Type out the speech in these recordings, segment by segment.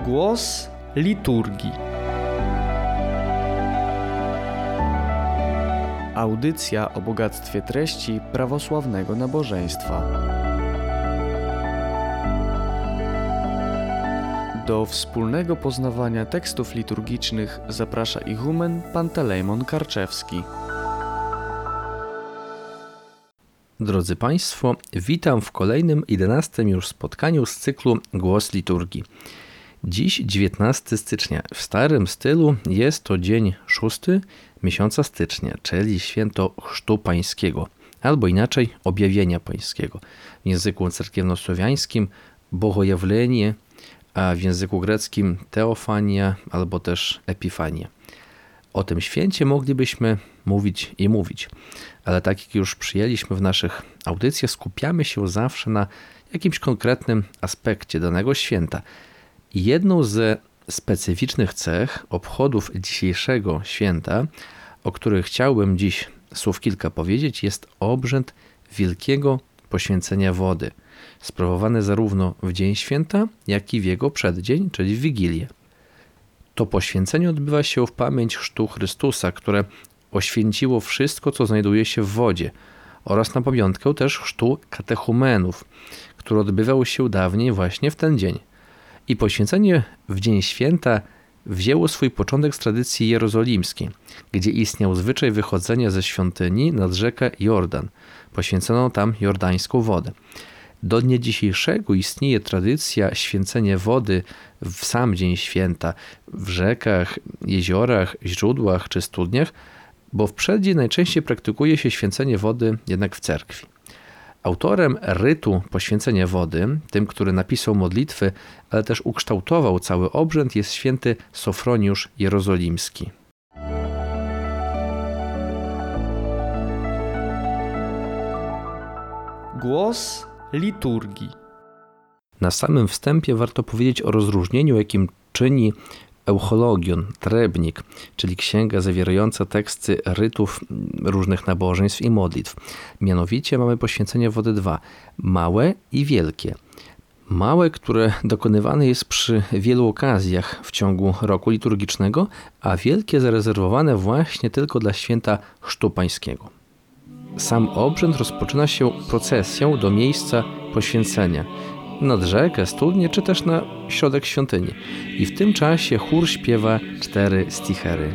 Głos liturgii. Audycja o bogactwie treści prawosławnego nabożeństwa. Do wspólnego poznawania tekstów liturgicznych zaprasza ichumen Pantelejmon Karczewski. Drodzy Państwo, witam w kolejnym 11. już spotkaniu z cyklu Głos liturgii. Dziś 19 stycznia. W starym stylu jest to dzień 6 miesiąca stycznia, czyli święto Chrztu Pańskiego, albo inaczej Objawienia Pańskiego. W języku cerkiewnosłowiańskim Bogojawlenie, a w języku greckim Teofania albo też Epifania. O tym święcie moglibyśmy mówić, ale tak jak już przyjęliśmy w naszych audycjach, skupiamy się zawsze na jakimś konkretnym aspekcie danego święta. I jedną ze specyficznych cech obchodów dzisiejszego święta, o których chciałbym dziś słów kilka powiedzieć, jest obrzęd wielkiego poświęcenia wody, sprawowany zarówno w dzień święta, jak i w jego przeddzień, czyli w Wigilię. To poświęcenie odbywa się w pamięć chrztu Chrystusa, które oświęciło wszystko, co znajduje się w wodzie, oraz na pamiątkę też chrztu katechumenów, który odbywał się dawniej właśnie w ten dzień. I poświęcenie w dzień święta wzięło swój początek z tradycji jerozolimskiej, gdzie istniał zwyczaj wychodzenia ze świątyni nad rzekę Jordan. Poświęcono tam jordańską wodę. Do dnia dzisiejszego istnieje tradycja święcenia wody w sam dzień święta w rzekach, jeziorach, źródłach czy studniach, bo w przeddzień najczęściej praktykuje się święcenie wody jednak w cerkwi. Autorem rytu poświęcenia wody, tym, który napisał modlitwy, ale też ukształtował cały obrzęd, jest święty Sofroniusz Jerozolimski. Głos liturgii. Na samym wstępie warto powiedzieć o rozróżnieniu, jakim czyni Euchologion, Trebnik, czyli księga zawierająca teksty rytów różnych nabożeństw i modlitw. Mianowicie mamy poświęcenie wody dwa, małe i wielkie. Małe, które dokonywane jest przy wielu okazjach w ciągu roku liturgicznego, a wielkie zarezerwowane właśnie tylko dla święta Chrztu Pańskiego. Sam obrzęd rozpoczyna się procesją do miejsca poświęcenia, nad rzekę, studnię czy też na środek świątyni. I w tym czasie chór śpiewa 4 stichery.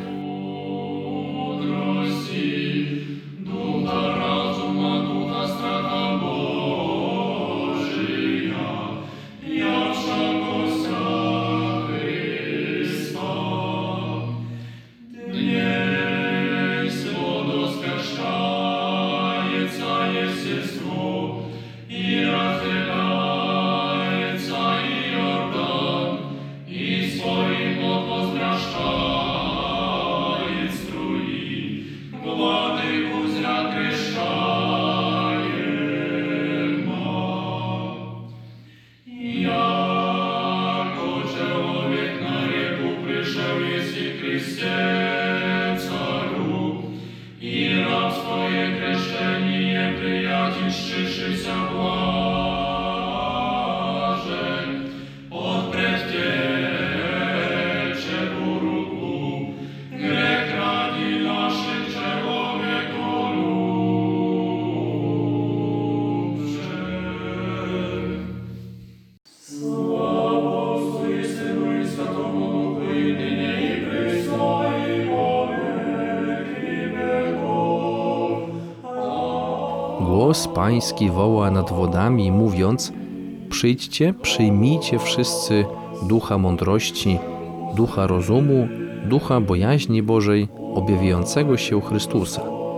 Głos Pański woła nad wodami, mówiąc: przyjdźcie, przyjmijcie wszyscy ducha mądrości, ducha rozumu, ducha bojaźni Bożej, objawiającego się Chrystusa.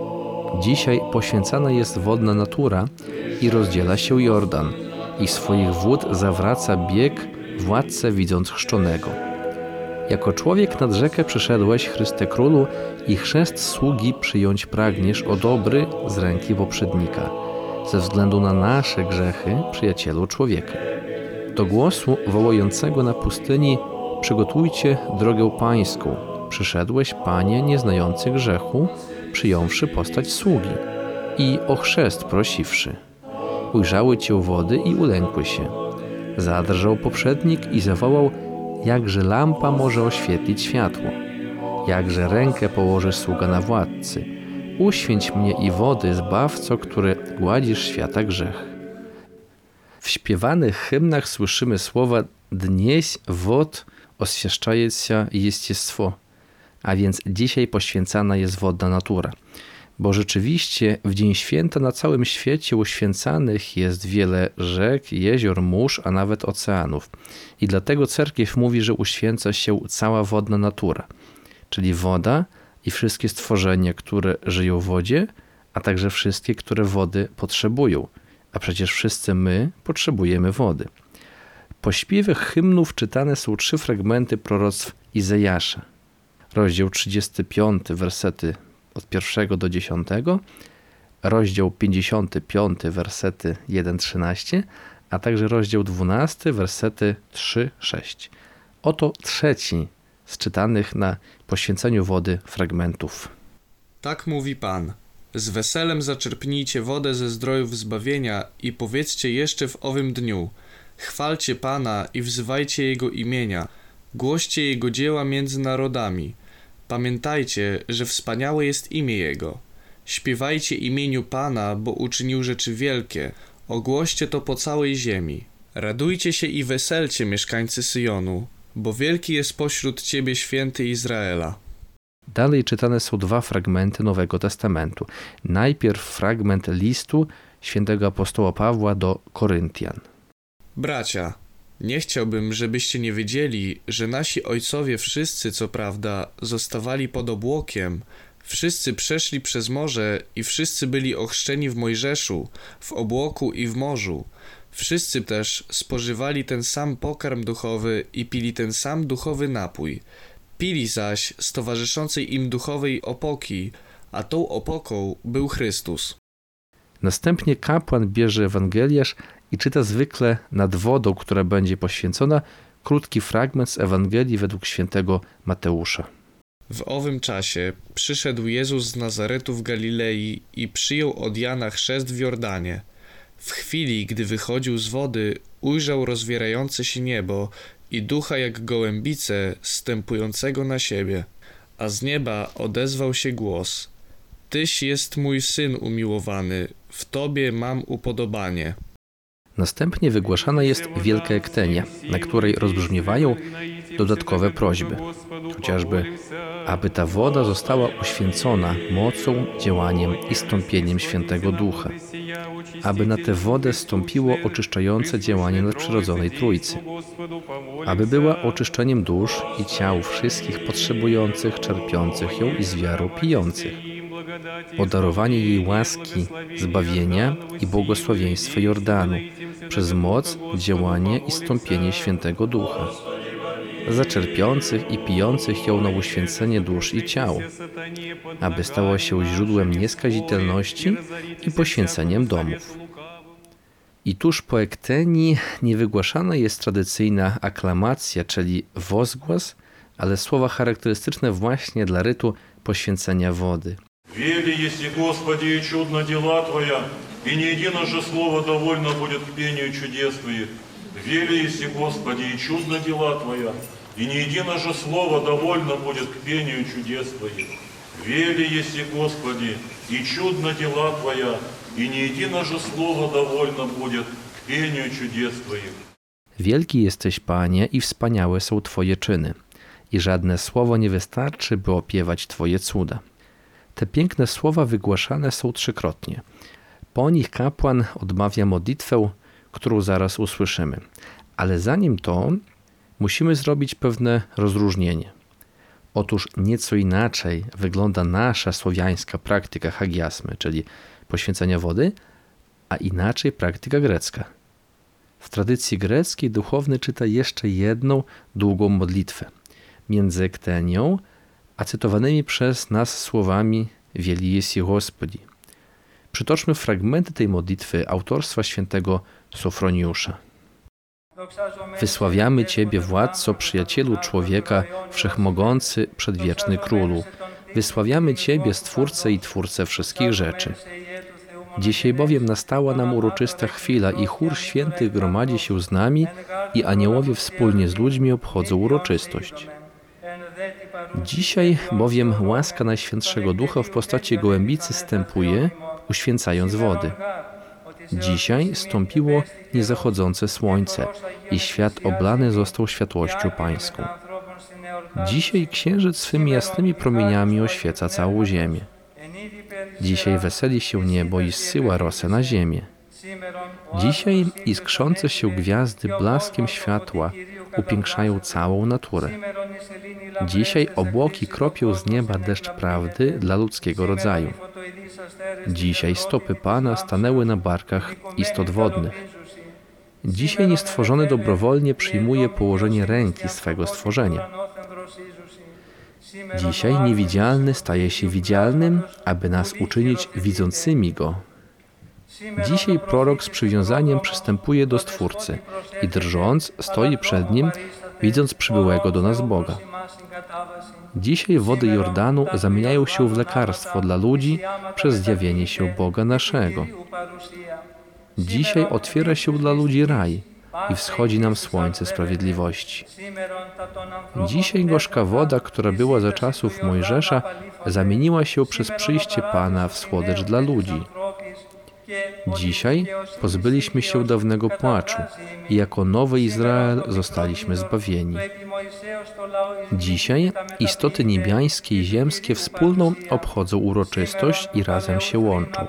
Dzisiaj poświęcana jest wodna natura i rozdziela się Jordan, i swoich wód zawraca bieg władcę widząc chrzczonego. Jako człowiek nad rzekę przyszedłeś, Chryste Królu, i chrzest sługi przyjąć pragniesz, o dobry, z ręki poprzednika, ze względu na nasze grzechy, przyjacielu człowieka. Do głosu wołającego na pustyni: przygotujcie drogę Pańską. Przyszedłeś, Panie, nieznający grzechu, przyjąwszy postać sługi i o chrzest prosiwszy. Ujrzały Cię wody i ulękły się. Zadrżał poprzednik i zawołał: jakże lampa może oświetlić światło. Jakże rękę położy sługa na władcy. Uświęć mnie i wody, Zbawco, który gładzisz świata grzech. W śpiewanych hymnach słyszymy słowa «Dnieś wod oswieszczается естество», a więc dzisiaj poświęcana jest wodna natura. Bo rzeczywiście w Dzień Święta na całym świecie uświęcanych jest wiele rzek, jezior, mórz, a nawet oceanów. I dlatego Cerkiew mówi, że uświęca się cała wodna natura, czyli woda i wszystkie stworzenia, które żyją w wodzie, a także wszystkie, które wody potrzebują. A przecież wszyscy my potrzebujemy wody. Po śpiewie hymnów czytane są 3 fragmenty proroctw Izajasza. Rozdział 35, wersety od 1 do 10, rozdział 55, wersety 1-13, a także rozdział 12, wersety 3-6. Oto trzeci z czytanych na poświęceniu wody fragmentów. Tak mówi Pan. Z weselem zaczerpnijcie wodę ze zdrojów zbawienia i powiedzcie jeszcze w owym dniu. Chwalcie Pana i wzywajcie Jego imienia. Głoście Jego dzieła między narodami. Pamiętajcie, że wspaniałe jest imię Jego. Śpiewajcie imieniu Pana, bo uczynił rzeczy wielkie. Ogłoście to po całej ziemi. Radujcie się i weselcie, mieszkańcy Syjonu, bo wielki jest pośród Ciebie święty Izraela. Dalej czytane są 2 fragmenty Nowego Testamentu. Najpierw fragment listu świętego apostoła Pawła do Koryntian. Bracia, nie chciałbym, żebyście nie wiedzieli, że nasi ojcowie wszyscy, co prawda, zostawali pod obłokiem, wszyscy przeszli przez morze i wszyscy byli ochrzczeni w Mojżeszu, w obłoku i w morzu. Wszyscy też spożywali ten sam pokarm duchowy i pili ten sam duchowy napój. Pili zaś z towarzyszącej im duchowej opoki, a tą opoką był Chrystus. Następnie kapłan bierze Ewangeliarz i czyta zwykle nad wodą, która będzie poświęcona, krótki fragment z Ewangelii według świętego Mateusza. W owym czasie przyszedł Jezus z Nazaretu w Galilei i przyjął od Jana chrzest w Jordanie. W chwili, gdy wychodził z wody, ujrzał rozwierające się niebo i ducha jak gołębice zstępującego na siebie. A z nieba odezwał się głos: Tyś jest mój Syn umiłowany, w Tobie mam upodobanie. Następnie wygłaszana jest wielka ektenia, na której rozbrzmiewają dodatkowe prośby, chociażby aby ta woda została uświęcona mocą, działaniem i stąpieniem Świętego Ducha, aby na tę wodę stąpiło oczyszczające działanie nadprzyrodzonej Trójcy, aby była oczyszczeniem dusz i ciał wszystkich potrzebujących, czerpiących ją i z wiarą pijących, o darowanie jej łaski, zbawienia i błogosławieństwa Jordanu przez moc, działanie i stąpienie Świętego Ducha, za czerpiących i pijących ją na uświęcenie dusz i ciał, aby stała się źródłem nieskazitelności i poświęceniem domów. I tuż po ektenii niewygłaszana jest tradycyjna aklamacja, czyli wozgłos, ale słowa charakterystyczne właśnie dla rytu poświęcenia wody. Вели, если Господи, и чудно дела Твоя, и не едино слово довольно будет к пению чудес Твоих. Вели, если Господи, и чудно дела Твоя, и не едино слово довольно будет к пению чудес Твоих. Вели, если Господи, и чудно дела Твоя, и не едино слово довольно будет к пению чудес Твоих. Wielki jesteś, Panie, i wspaniałe są Twoje czyny, i żadne słowo nie wystarczy, by opiewać Twoje cuda. Te piękne słowa wygłaszane są 3-krotnie. Po nich kapłan odmawia modlitwę, którą zaraz usłyszymy. Ale zanim to, musimy zrobić pewne rozróżnienie. Otóż nieco inaczej wygląda nasza słowiańska praktyka hagiasmy, czyli poświęcenia wody, a inaczej praktyka grecka. W tradycji greckiej duchowny czyta jeszcze jedną długą modlitwę między ektenią a cytowanymi przez nas słowami Wielki jest Gospodzi. Przytoczmy fragmenty tej modlitwy autorstwa świętego Sofroniusza. Wysławiamy Ciebie, Władco, przyjacielu człowieka, wszechmogący, przedwieczny Królu. Wysławiamy Ciebie, Stwórcę i Twórcę wszystkich rzeczy. Dzisiaj bowiem nastała nam uroczysta chwila i chór świętych gromadzi się z nami i aniołowie wspólnie z ludźmi obchodzą uroczystość. Dzisiaj bowiem łaska Najświętszego Ducha w postaci gołębicy zstępuje, uświęcając wody. Dzisiaj stąpiło niezachodzące słońce i świat oblany został światłością Pańską. Dzisiaj księżyc swymi jasnymi promieniami oświeca całą ziemię. Dzisiaj weseli się niebo i zsyła rosę na ziemię. Dzisiaj iskrzące się gwiazdy blaskiem światła upiększają całą naturę. Dzisiaj obłoki kropią z nieba deszcz prawdy dla ludzkiego rodzaju. Dzisiaj stopy Pana stanęły na barkach istot wodnych. Dzisiaj niestworzony dobrowolnie przyjmuje położenie ręki swego stworzenia. Dzisiaj niewidzialny staje się widzialnym, aby nas uczynić widzącymi Go. Dzisiaj prorok z przywiązaniem przystępuje do Stwórcy i drżąc stoi przed Nim, widząc przybyłego do nas Boga. Dzisiaj wody Jordanu zamieniają się w lekarstwo dla ludzi przez zjawienie się Boga naszego. Dzisiaj otwiera się dla ludzi raj i wschodzi nam słońce sprawiedliwości. Dzisiaj gorzka woda, która była za czasów Mojżesza, zamieniła się przez przyjście Pana w słodycz dla ludzi. Dzisiaj pozbyliśmy się dawnego płaczu i jako nowy Izrael zostaliśmy zbawieni. Dzisiaj istoty niebiańskie i ziemskie wspólną obchodzą uroczystość i razem się łączą.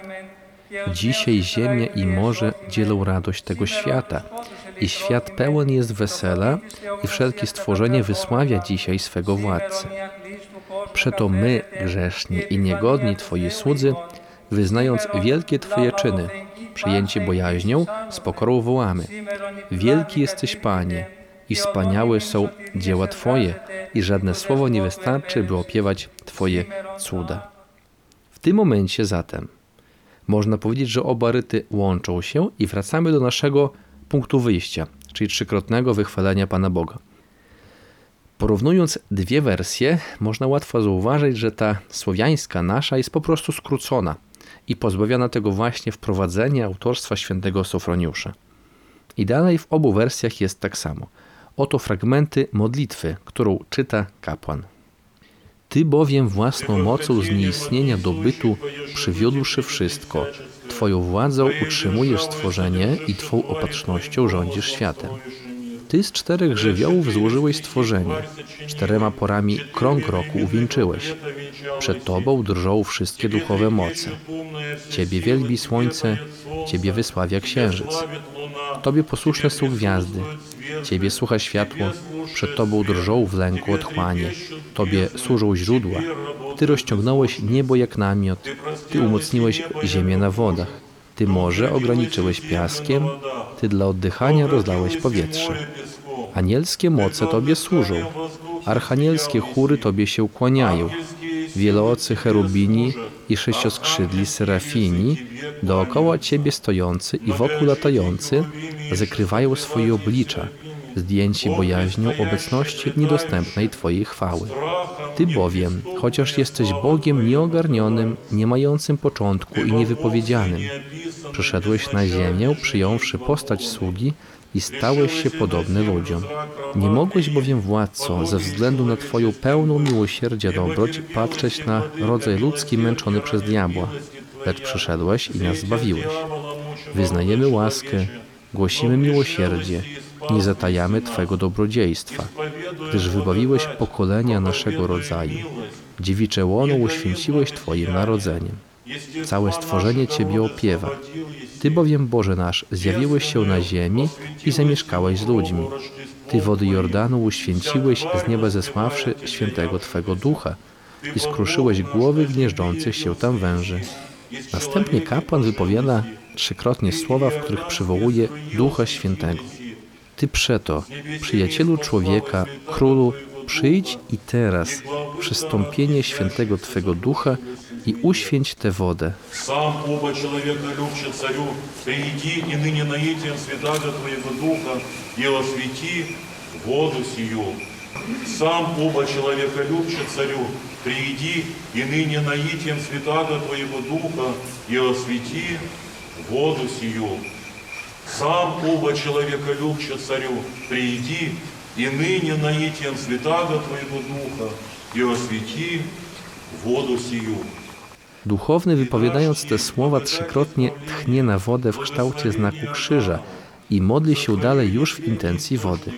Dzisiaj ziemia i morze dzielą radość tego świata i świat pełen jest wesela i wszelkie stworzenie wysławia dzisiaj swego Władcę. Przeto my, grzeszni i niegodni Twoi słudzy, wyznając wielkie Twoje czyny, przyjęci bojaźnią, z pokorą wołamy: Wielki jesteś, Panie, i wspaniałe są dzieła Twoje, i żadne słowo nie wystarczy, by opiewać Twoje cuda. W tym momencie zatem można powiedzieć, że oba ryty łączą się i wracamy do naszego punktu wyjścia, czyli trzykrotnego wychwalenia Pana Boga. Porównując dwie wersje, można łatwo zauważyć, że ta słowiańska nasza jest po prostu skrócona i pozbawiona tego właśnie wprowadzenia autorstwa świętego Sofroniusza. I dalej w obu wersjach jest tak samo. Oto fragmenty modlitwy, którą czyta kapłan. Ty bowiem własną mocą z nieistnienia do bytu przywiódłszy wszystko, Twoją władzą utrzymujesz stworzenie i Twą opatrznością rządzisz światem. Ty z 4 żywiołów złożyłeś stworzenie, 4 porami krąg roku uwieńczyłeś. Przed Tobą drżą wszystkie duchowe moce. Ciebie wielbi słońce, Ciebie wysławia księżyc. Tobie posłuszne są gwiazdy, Ciebie słucha światło, przed Tobą drżą w lęku otchłanie. Tobie służą źródła. Ty rozciągnąłeś niebo jak namiot, Ty umocniłeś ziemię na wodach. Ty morze ograniczyłeś piaskiem, Ty dla oddychania rozlałeś powietrze. Anielskie moce Tobie służą, archanielskie chóry Tobie się kłaniają. Wieloocy cherubini i 6skrzydli serafini, dookoła Ciebie stojący i wokół latający, zakrywają swoje oblicza, zdjęci bojaźnią obecności niedostępnej Twojej chwały. Ty bowiem, chociaż jesteś Bogiem nieogarnionym, nie mającym początku i niewypowiedzianym, przyszedłeś na ziemię, przyjąwszy postać sługi i stałeś się podobny ludziom. Nie mogłeś bowiem, Władco, ze względu na Twoją pełną miłosierdzia dobroć patrzeć na rodzaj ludzki męczony przez diabła, lecz przyszedłeś i nas zbawiłeś. Wyznajemy łaskę, głosimy miłosierdzie, nie zatajamy Twego dobrodziejstwa, gdyż wybawiłeś pokolenia naszego rodzaju. Dziewicze łono uświęciłeś Twoim narodzeniem. Całe stworzenie Ciebie opiewa. Ty bowiem, Boże nasz, zjawiłeś się na ziemi i zamieszkałeś z ludźmi. Ty wody Jordanu uświęciłeś, z nieba zesławszy świętego Twego Ducha i skruszyłeś głowy gnieżdżących się tam węży. Następnie kapłan wypowiada 3-krotnie słowa, w których przywołuje Ducha Świętego. Ty przeto, przyjacielu człowieka, królu, przyjdź i teraz przystąpienie świętego Twego Ducha i uświęć tę wodę. Сам оба человека любче царю, приди и ныне наитием святаго Твоего Духа и освети воду сию. Сам оба человеколюбче царю, прииди и ныне наитием святаго Твоего Духа и освети воду сию. Сам оба человеколюбче царю, прииди и ныне наитием святаго Twojego Ducha i oswieci wodę siju. Duchowny, wypowiadając te słowa, trzykrotnie tchnie na wodę w kształcie znaku krzyża i modli się dalej już w intencji wody.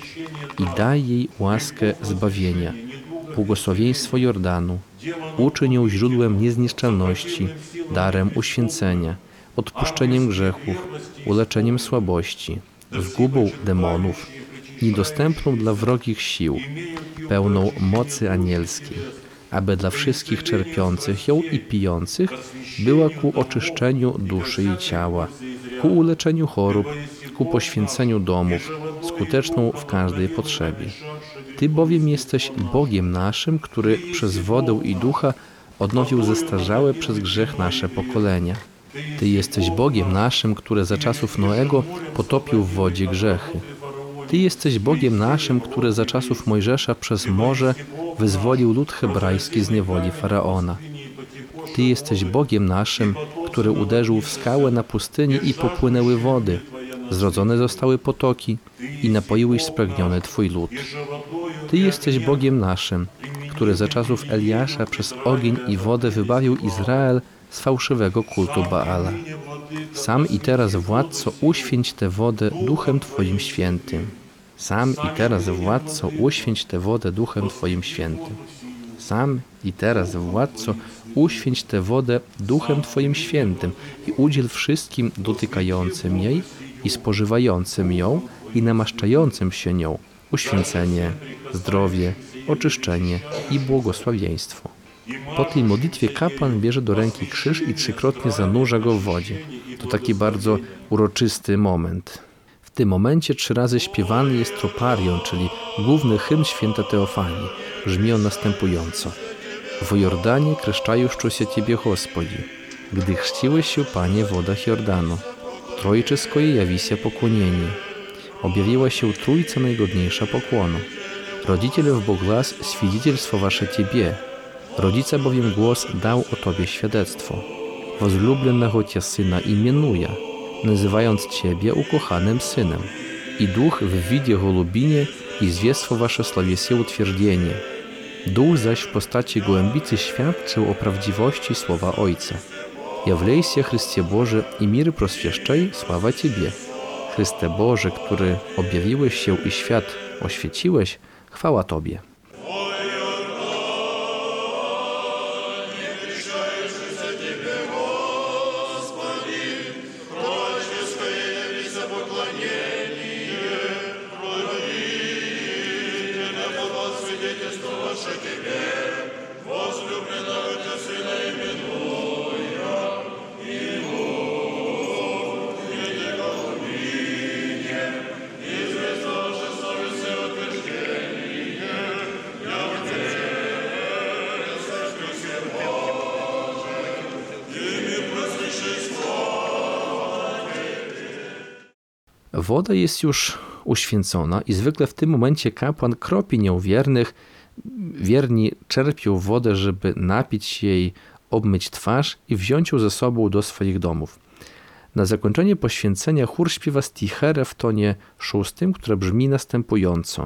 I daj jej łaskę zbawienia, błogosławieństwo Jordanu, uczyń ją źródłem niezniszczalności, darem uświęcenia, odpuszczeniem grzechów, uleczeniem słabości, zgubą demonów, niedostępną dla wrogich sił, pełną mocy anielskiej, aby dla wszystkich czerpiących ją i pijących była ku oczyszczeniu duszy i ciała, ku uleczeniu chorób, ku poświęceniu domów, skuteczną w każdej potrzebie. Ty bowiem jesteś Bogiem naszym, który przez wodę i ducha odnowił zestarzałe przez grzech nasze pokolenia. Ty jesteś Bogiem naszym, który za czasów Noego potopił w wodzie grzechy. Ty jesteś Bogiem naszym, który za czasów Mojżesza przez morze wyzwolił lud hebrajski z niewoli Faraona. Ty jesteś Bogiem naszym, który uderzył w skałę na pustyni i popłynęły wody. Zrodzone zostały potoki i napoiłeś spragniony Twój lud. Ty jesteś Bogiem naszym, który za czasów Eliasza przez ogień i wodę wybawił Izrael z fałszywego kultu Baala. Sam i teraz, Władco, uświęć tę wodę Duchem Twoim Świętym. Sam i teraz, Władco, uświęć tę wodę Duchem Twoim Świętym. Sam i teraz, Władco, uświęć tę wodę Duchem Twoim Świętym i udziel wszystkim dotykającym jej i spożywającym ją i namaszczającym się nią uświęcenie, zdrowie, oczyszczenie i błogosławieństwo. Po tej modlitwie kapłan bierze do ręki krzyż i trzykrotnie zanurza go w wodzie. To taki bardzo uroczysty moment. W tym momencie 3 razy śpiewany jest troparion, czyli główny hymn święta Teofanii. Brzmi on następująco. W Jordanie kreszczajuszczo Ciebie, Господи, gdy chrzciłeś się, Panie, w wodach Jordanu. Trojczyskoje jawisia pokłonienie. Objawiła się Trójca najgodniejsza pokłonu. Rodziciele w Boglas świadectwo Wasze Ciebie. Rodzica bowiem głos dał o Tobie świadectwo. Возлюбленного Cię Syna imienuje, nazywając Ciebie ukochanym Synem. I Duch w widzie golubinie i zwiestwo Wasze sławiesie utwierdzenie. Duch zaś w postaci gołębicy świadczył o prawdziwości słowa Ojca. Jawlejся, Chrystie Boże, i mir proswieszczaj, sława Ciebie. Chryste Boże, który objawiłeś się i świat oświeciłeś, chwała Tobie. Woda jest już uświęcona i zwykle w tym momencie kapłan kropi nią wiernych. Wierni czerpią wodę, żeby napić się jej, obmyć twarz i wziąć ją ze sobą do swoich domów. Na zakończenie poświęcenia chór śpiewa sticherę w tonie 6, które brzmi następująco.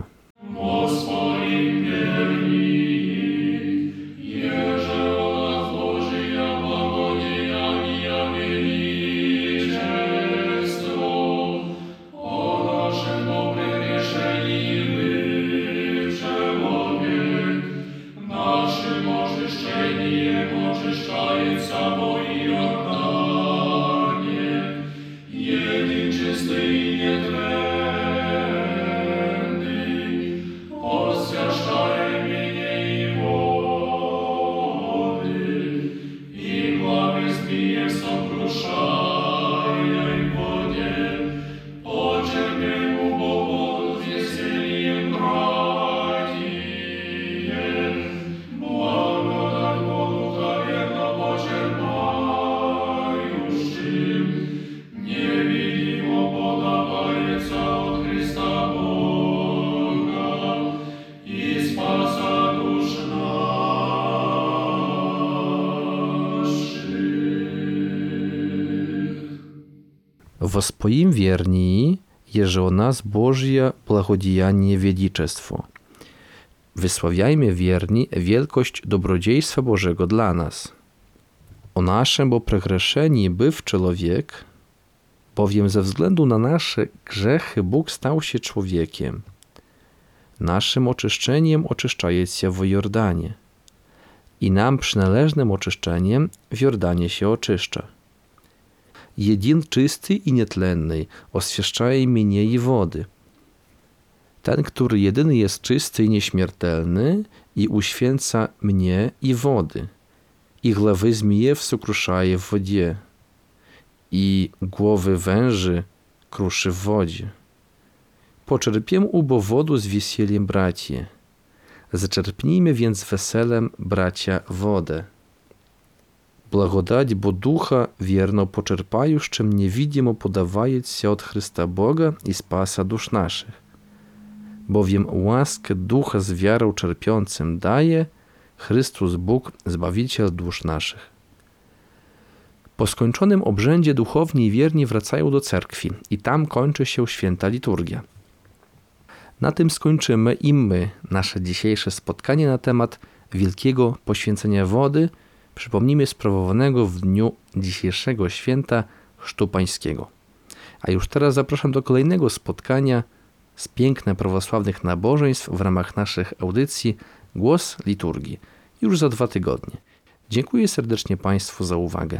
Во своим вернии, еже у нас Божье благодеяние величество. Wysławiajmy wierni wielkość dobrodziejstwa Bożego dla nas. O naszym bo przegrzeszeni był człowiek, bowiem ze względu na nasze grzechy Bóg stał się człowiekiem. Naszym oczyszczeniem oczyszczaje się w Jordanie i nam przynależnym oczyszczeniem w Jordanie się oczyszcza. Jedin czysty i nietlenny oswieszczaje mnie i wody. Ten, który jedyny jest czysty i nieśmiertelny i uświęca mnie i wody. I głowy zmijew sukruszaje w wodzie i głowy węży kruszy w wodzie. Poczerpiem ubo wodu z weseliem, bracie. Zaczerpnijmy więc weselem, bracia, wodę. Благодать бо Духа верно почерпающим невидимо подавається od Chrysta Boga i Spasa dusz naszych. Bowiem łaskę Ducha z wiarą czerpiącym daje Chrystus Bóg, Zbawiciel dusz naszych. Po skończonym obrzędzie duchowni i wierni wracają do cerkwi i tam kończy się święta liturgia. Na tym skończymy i my nasze dzisiejsze spotkanie na temat wielkiego poświęcenia wody, przypomnijmy, sprawowanego w dniu dzisiejszego święta Chrztu Pańskiego. A już teraz zapraszam do kolejnego spotkania z pięknych prawosławnych nabożeństw w ramach naszych audycji Głos Liturgii już za 2 tygodnie. Dziękuję serdecznie Państwu za uwagę.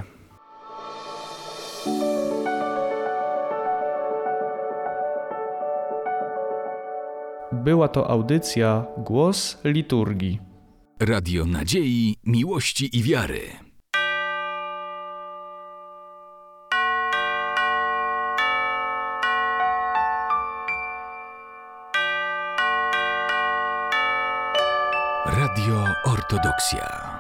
Była to audycja Głos Liturgii. Radio Nadziei, Miłości i Wiary. Radio Ortodoksja.